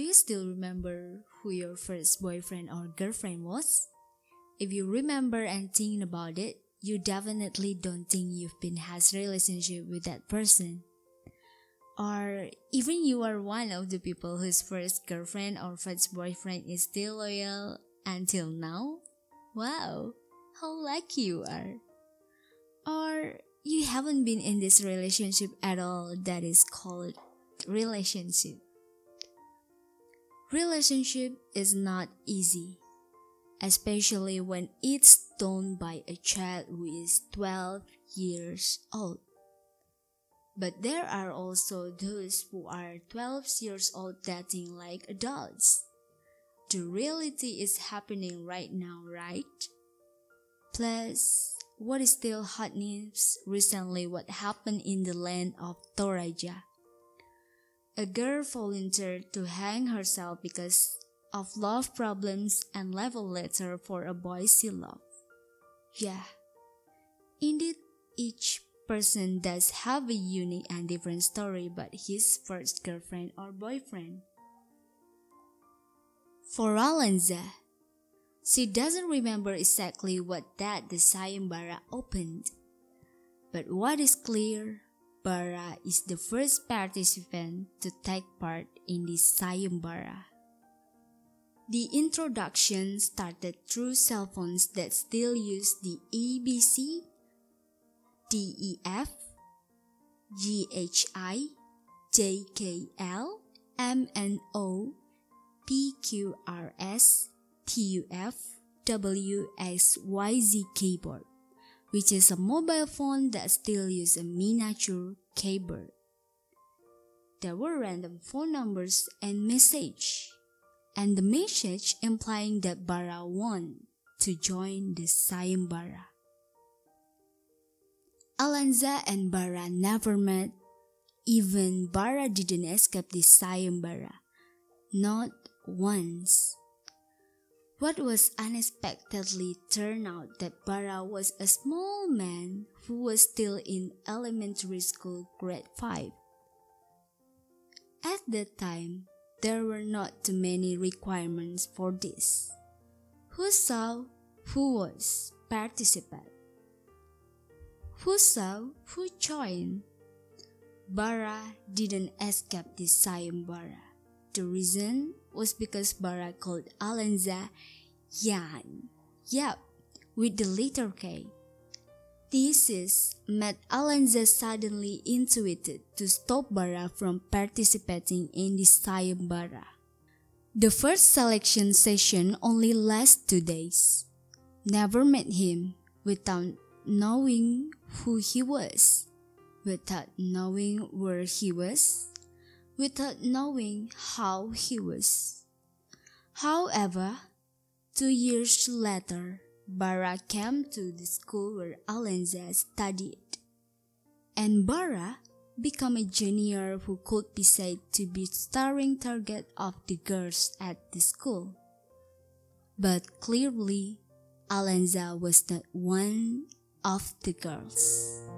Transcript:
you still remember who your first boyfriend or girlfriend was? If you remember and think about it, you definitely don't think you've been has relationship with that person. Or even you are one of the people whose first girlfriend or first boyfriend is still loyal until now? Wow, how lucky you are. Or you haven't been in this relationship at all that is called relationship. Relationship is not easy, especially when it's done by a child who is 12 years old. But there are also those who are 12 years old dating like adults. The reality is happening right now, right? Plus, what is still hot news recently what happened in the land of Toraja. A girl volunteered to hang herself because of love problems and left a letter for a boy she loved. Yeah, indeed each person does have a unique and different story about his first girlfriend or boyfriend. For Alanza, she doesn't remember exactly what that the sayembara opened. But what is clear, Bara is the first participant to take part in this sayembara. The introduction started through cell phones that still use the ABC, DEF, GHI, JKL, MNO, PQRS, TUF, WXYZ keyboard, which is a mobile phone that still uses a miniature keyboard. There were random phone numbers and message, and the message implying that Bara won to join the sayembara. Alanza and Bara never met. Even Bara didn't escape the sayembara, not once. What was unexpectedly turned out that Bara was a small man who was still in elementary school grade 5. At that time, there were not too many requirements for this. Who saw, who was participant? Who saw, who joined? Bara didn't escape the sayembara. The reason was because Bara called Alanza Yan. Yup, with the letter K. This made Alanza suddenly intuited to stop Bara from participating in the sayembara. The first selection session only lasted 2 days. Never met him without knowing who he was, without knowing where he was, without knowing how he was. However, 2 years later, Bara came to the school where Alanza studied, and Bara became a junior who could be said to be starring target of the girls at the school. But clearly, Alanza was not one of the girls.